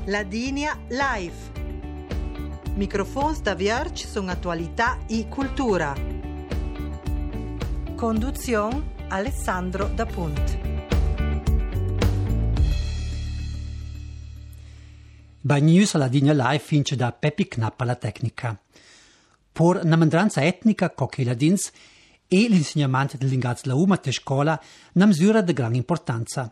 Ladinia Live. Microfons da Vierge sono attualità e cultura. Conduzione Alessandro Da Punt. Bagnews alla Ladinia Live fince da Peppi Knapp alla tecnica. Per una mandranza etnica che ladins e l'insegnamento del linguaggio della UMA a scuola una misura di grande importanza.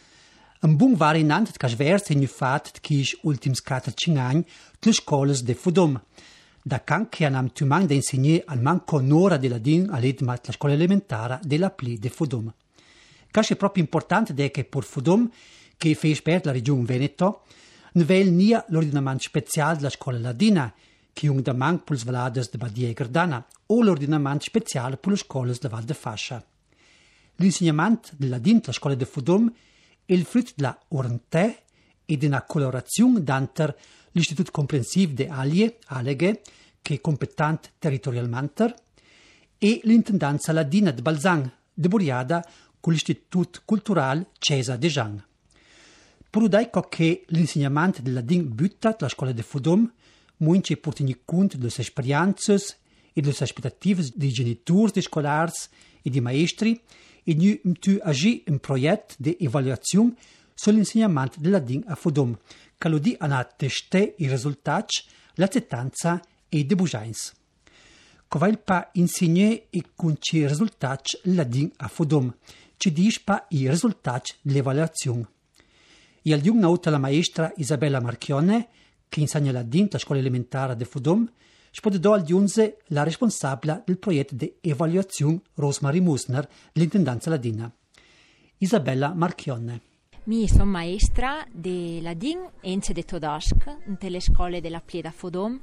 Un buon variante che sversa in fatto che gli ultimi 4-5 anni le scuole di Fudom. Da che hanno tumato da insegnare al manco un'ora di ladin all'edma la scuola elementare della pli di Fudom. È proprio importante che per Fudom, che fa per la regione Veneto, non è nia l'ordinamento speciale della scuola ladina, che è un da manco per le valades di Badia e Gardana, o l'ordinamento speciale per le scuole della Val de Fascia. L'insegnamento del ladin della scuola di Fudom è il frutto della orantè e di una collaborazione tra l'Istituto Comprensivo di Aleghe, che è competente territorialmente, e l'Intendanza Ladina di Balzan, di Buriada, con l'Istituto Culturale Cesa de Jean. Per udare che l'insegnamento del ladin butta la scuola di Fudom, muince per tenere conto delle esperienze e delle aspettative dei genitori, dei scolari e dei maestri, e nu tu agi un progetto di evaluazione sull'insegnamento del ladin a Fudom, che lo di a testare i risultati, l'acceptanza e i debugiains. Covail pa insegnare e con i risultati il ladin a Fudom, ci dice pa i risultati dell'evaluazione. E al giorno nota la maestra Isabella Marchione, che insegna ladin alla scuola elementare di Fudom, spodò al giunze la responsabile del progetto di evaluazione Rosmarie Musner dell'Intendanza Ladina. Isabella Marchione. Mi sono maestra di ladin e di tedesco nelle scuole della Plieda Fudom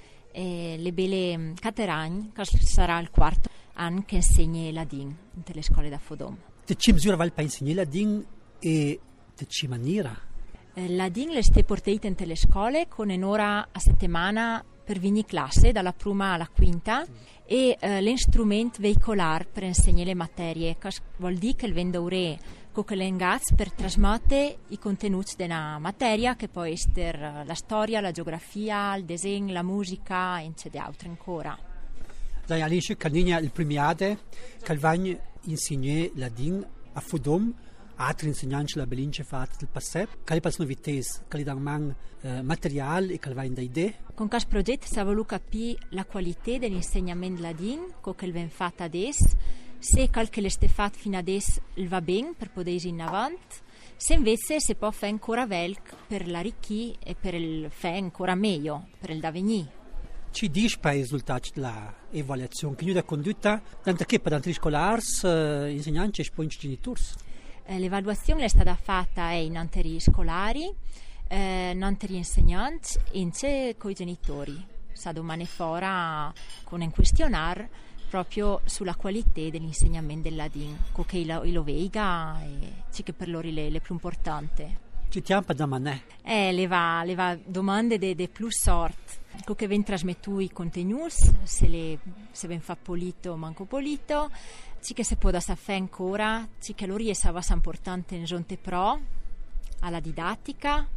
e le belle Cateragni, che sarà il quarto anno che insegna ladin nelle scuole da Fudom. Te ci misura val pa insegnare ladin e te ci maniera? Ladin le ste portate nelle scuole con un'ora a settimana per ogni classe, dalla prima alla quinta, e l'instrumento veicolare per insegnare le materie, che vuol dire che il vendoure con l'engaz per trasmettere i contenuti della materia, che può essere la storia, la geografia, il disegno, la musica e altro ancora. Dai all'inizio canigna il primiade che vanno insegnare ladin a Fudom, altri insegnanti la belince fatta del passato, che le novità, che le danno materiale e che le vanno da idee. Con questo progetto si è voluto capire la qualità dell'insegnamento ladin, che viene fatto adesso, se quel che le sta fatto fino adesso va bene per poter ir in avanti, se invece si può fare ancora meglio per l'arricchire e per il fare ancora meglio, per il da venire. Ci dice per i risultati dell'evaluazione che noi abbiamo condotta, tanto che per gli scolari, insegnanti e poi i genitori? L'evaluazione è stata fatta in anteri scolari, in anteri insegnanti e con i genitori. Sa domani fora con un questionario proprio sulla qualità dell'insegnamento del ladin, che lo veiga e che per loro è più importante. Ci tiampa da manè? Le va domande de più sorte. Che viene trasmettuto i contenuti, se viene fa polito o manco polito, che si può da fare ancora, che loro è importante in giunte pro alla didattica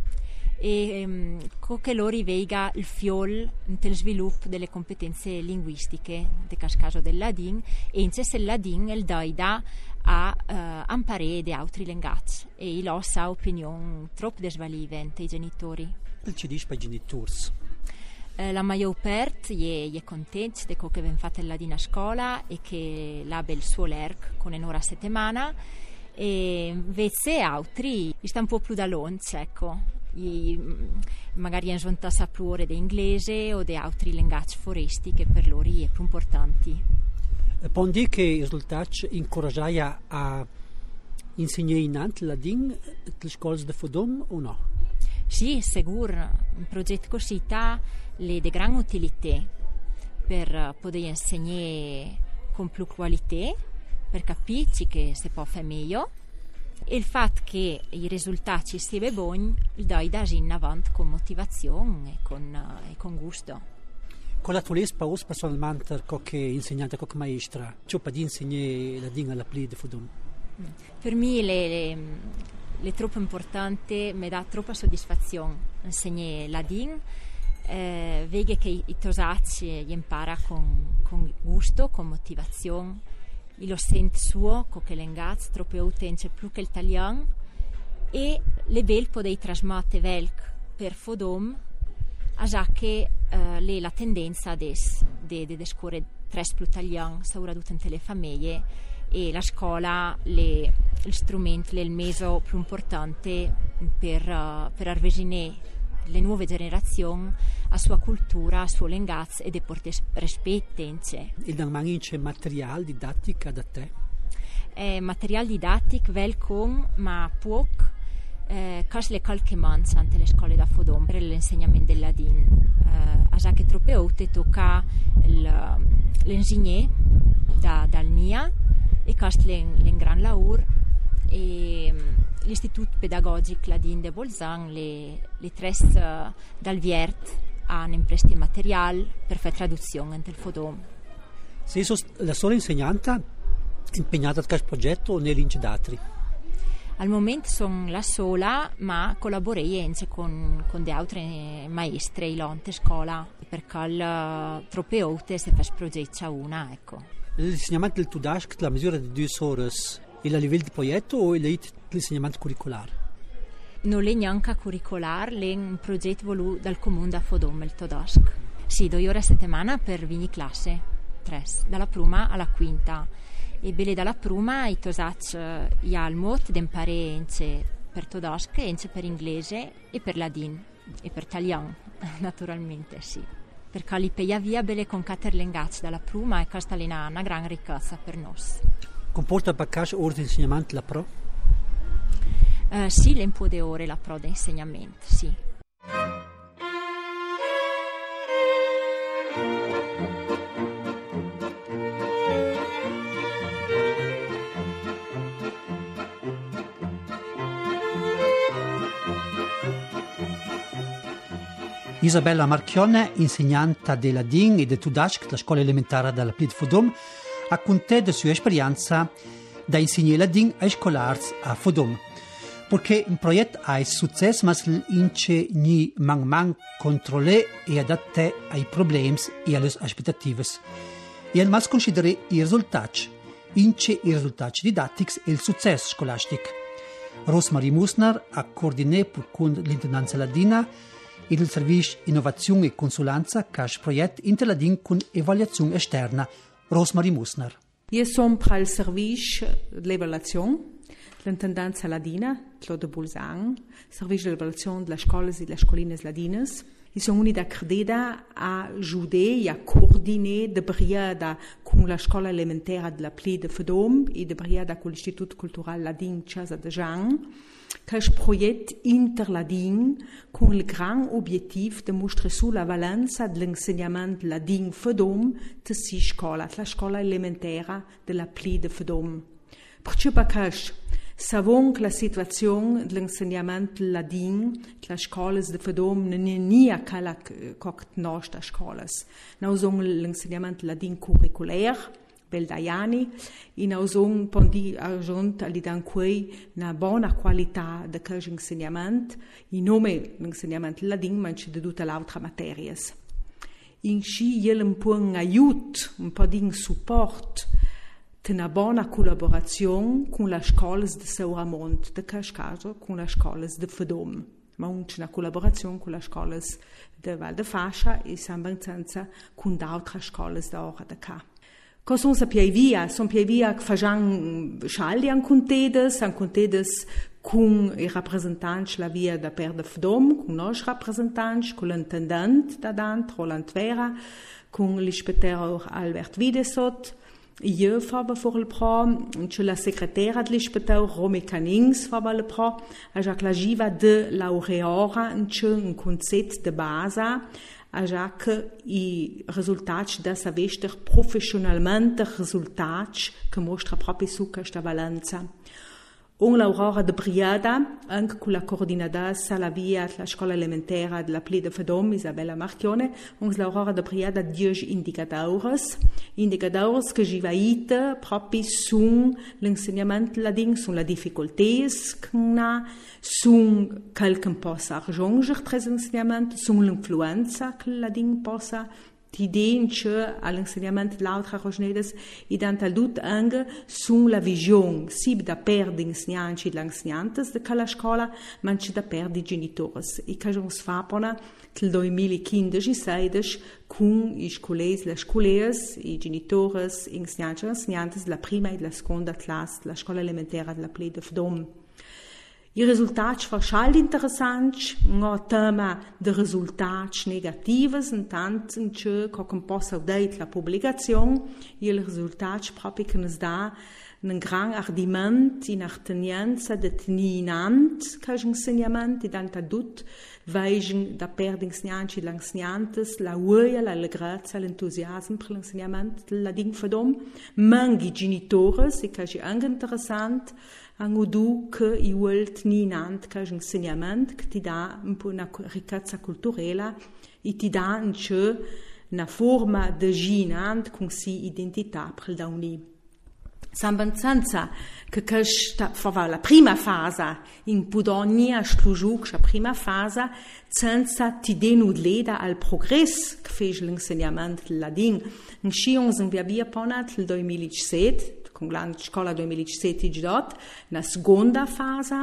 e che loro veiga il fiol nel sviluppo delle competenze linguistiche, nel caso del ladin, e in se il ladin il daida a imparare di altri linguaggi e il sa opinione troppo desvalivente ai genitori. Il ci dice per i genitori? La maggior parte è contenta di quello che viene fatto il ladino a scuola e che l'abbia il suo LERC con un'ora a settimana, e invece altri stanno un po' più da longe, ecco. Magari hanno giunto più ore di inglese o di altri linguaggi foresti che per loro è più importanti. Può dire che i risultati incoraggiano a insegnare in ant ladin le scuole di Fudom o no? Sì, sicuro. Un progetto così ha di grande utilità per poter insegnare con più qualità, per capire che si può fare meglio, e il fatto che i risultati siano buoni il dà in avanti con motivazione e con gusto. Con la tua esperienza personalmente come insegnante, come maestra, ciò per insegnare ladin alla Plieda Fudom? Per me è troppo importante, mi dà troppa soddisfazione insegnare ladin, vedi che i tosacci gli impara con gusto, con motivazione, lo sente suo, con che l'engaz, troppo utente più che l'italiano, e le vel podei trasmette velc per fodom, a già che la tendenza di scuole tres più italiano, soprattutto in le famiglie, e la scuola è il strumento, il mezzo più importante per avvicinare le nuove generazioni a sua cultura, a suo linguaggio e di portare rispetto. Il non manca materiale didattico da te? Materiale didattico velcom, ma poco. Le qualche manca ante le scuole da Fodom per l'insegnamento del ladin. A già che troppe volte tocca l'ingegnere dal NIA e questo è un gran lavoro, e l'istituto pedagogico ladin de Bolzan le tre dal Viert hanno impresti materiale per fare traduzione ante il Fodom. Sei la sola insegnante impegnata a questo progetto o negli d'altri? Al momento sono la sola, ma collaboro con le altre maestre in lonte scuola, perché troppe volte si fa progetto una, ecco. L'insegnamento del Tudask, la misura di 2 ore, è a livello di progetto o è l'insegnamento curricolare? Non è neanche curricolare, è un progetto voluto dal comune da Fodom, il Tudask. Sì, 2 ore a settimana per ogni classe, 3, dalla prima alla quinta. E bene dalla prima i tosacci il modo di imparare per Tudask, per inglese e per ladin e per italiano, naturalmente, sì. Perché li pia via bene con 4 linguaggi dalla prima e questa è una gran ricchezza per noi. Comporta per caso ore di insegnamento la pro? Sì, le un po' di ore la pro di insegnamento, sì. Isabella Marchione, insegnante di ladin e di Tudask della scuola elementare della Pli di Fodom, racconta della sua esperienza da insegnare ladin ai scolari a Fodom. Perché un progetto ha successo, ma l'ince ni man controllare e adattare ai problemi e alle aspettative. E al mas considerare i risultati, i risultati didattici e il successo scolastico. Rosmarie Musner ha coordinato con l'Intendanza Ladina e il Servizio Innovazione e Consulenza che è il progetto Interladin con evaluazione esterna. Rosmarie Musner. Io sono per il Servizio di Evaluazione dell'Intendanza Ladina, Claude Bolzan, Servizio di Evaluazione delle scuole e delle scoline ladine. Io sono unita credita a aiutare e a coordinare de briada con la scuola elementare della Pli de Fodom e de briada con l'Istituto Culturale Ladin Casa de Jean, che è un progetto interladin con il gran obiettivo di mostrare la valenza dell'insegnamento ladin Fodom di si scuola, la scuola elementare della Pli de Fodom. Perché sappiamo che la situazione dell'insegnamento ladin della scuola di Fodom non è né quella che nostra scuola. Noi abbiamo l'insegnamento ladin curricolare, bel da anni, e noi abbiamo aggiunto una buona qualità di questo insegnamento, in nome dell'insegnamento ladin, ma anche di tutte le altre materie. In cui c'è un po' di aiuto, un po' di supporto, una buona collaborazione con le scuole di Sauramont, in questo caso con le scuole di Fodom, ma anche una collaborazione con le scuole di Val de Fascia e Sambanzanza con altre scuole da ora da qua. Cosa sono pievia? Sono pievia che facciamo scialli an contedes con i rappresentanti la via da per de Fodom, con noi rappresentanti, con l'intendente da Dant, Roland Vera, con l'ispettore Albert Wiedesot. Io fava for il pro, c'è la segretaria dell'ispettore Romy Canings fava il pro, a già la giva de laureora, c'è un concetto de base, a già che i risultati da savester professionalmente risultati che mostra proprio su questa valenza. Un l'Aurora de Briada, anche con la coordinadora la via la scuola elementare della Pli de Fedom, Isabella Marchione, un l'Aurora de Briada 10 indicadores che givaite proprio su l'insegnamento ladin, su la difficoltà, su qualche possa raggiungere tre insegnamenti, su l'influenza che ladin possa Tidinche all'insegnamento dell'altra rosnedes e d'antaldut anche sulla visione si da per di insegnanti e l'insegnantes de quella scuola ma anche da per di genitori e che ci sfapona nel 2015-16 con i scolesi, le scolese, i genitori, gli insegnanti e insegnantes della prima e della seconda classe della scuola elementare della Pli de Fedom. I risultati sono interessanti, un tema di risultati negativi, intanto che possa dare la pubblicazione, i risultati proprio che ci dà un gran ardimento in attenienza di tenimento che l'insegnamento, e tanto tutto, vedono da per gli insegnanti e le insegnanti la voglia, l'allegrezza, l'entusiasmo per l'insegnamento della Ding Fedom, ma anche i genitori, e che è anche interessante, hanno du che i vuol tenimento che l'insegnamento che ti dà un po' una ricchezza culturale e ti dà anche una forma di ginante con si identità per da unì. Sambanzanza che questa fa la prima fase in Pudonia slujuk la prima fase senza ti denudleda al progresso che fece l'insegnamento del ladin. In Scions in via ponat il 2017 con la scuola 2017 na seconda fase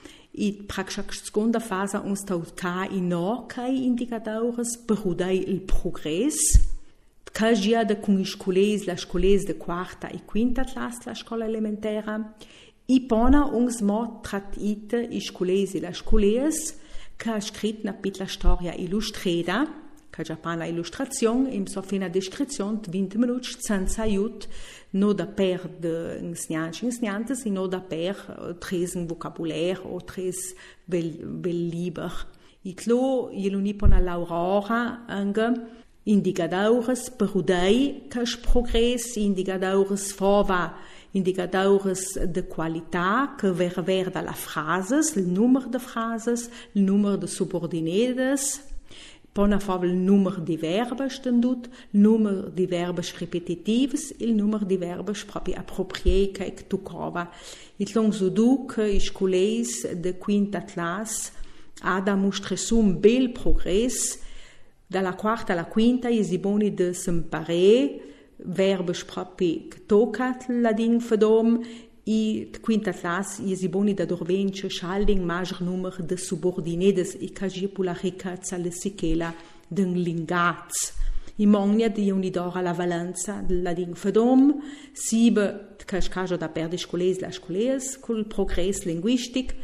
e praktisch seconda fase uns tautka i no kai indicadores per udai il progresso che già da con i scolesi, la scolese de quarta e quinta classe la scuola elementare e pona uns mo tratite i scolesi la scolese che ha scritto una piccola storia illustrata che già pana illustrazione e so fino a descrizione 20 minuti senza aiuto no da per de insegnanti e no da per tres un vocabulaire o tres bel liber. E tlo jelunipona l'Aurora anche indicadores per udai che progress, indicadores fova, indicadores de qualità che ver dalla frases, il numero de frases, il numero de subordinates, pona fava il numero di verbi stendut, il numero di verbi ripetitivi, il numero di verbi proprio appropriati che tu cova. Il long du che i scolesi de quinta classe ha da mostrare su un bel progresso. Dalla quarta alla quinta i buoni di s'imparare verbi proprio che toccat la Ding Fedom e quinta classe i buoni da dorvence schalding maggior numero di subordinates e che per la ricchezza le sichela d'un lingaz. I mogna di unidora la valenza della Ding Fedom, sibe che scaggio da per la scolese col progresso linguistico,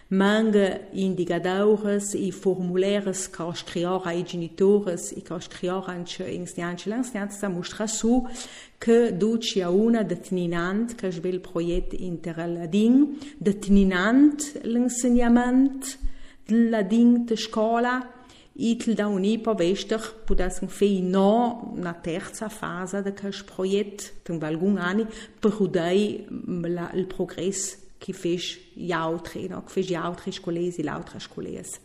manga indicadores e formulares che scriora ai genitori e che scriora anche insegnanti l'insegnanza mostra su che duci a una determinante che è il progetto interladin determinante l'insegnamento dell'ladin de scuola e da unipo vester potessero fare no una terza fase di questo progetto per alcuni anni per udare il progresso che fece gli altri, no? Che fece gli altri scolesi e le altre scolese.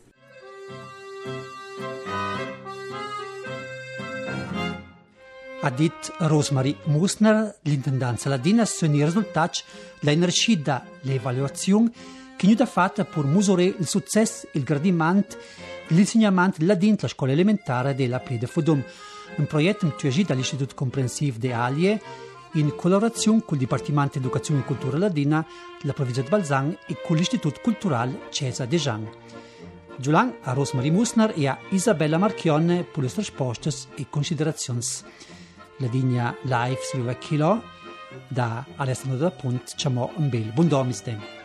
Ha detto Rosemarie Musner, l'intendanza ladina, sono i risultati dell'energia dell'evaluazione che è fatta per misurare il successo e il gradimento dell'insegnamento ladino alla scuola elementare della Pli de Fedom, un progetto attuato dall'Istituto Comprensivo de Alie in collaborazione con il Dipartimento di Educazione e Cultura Ladina della provincia di Balzan e con l'Istituto Culturale Cesa de Jean. Giulan a Rosemarie Musner e a Isabella Marchione per le risposte e considerazioni. La linea live sulla Chilo da Alessandro da Punt, ciamo un bel buon domistem.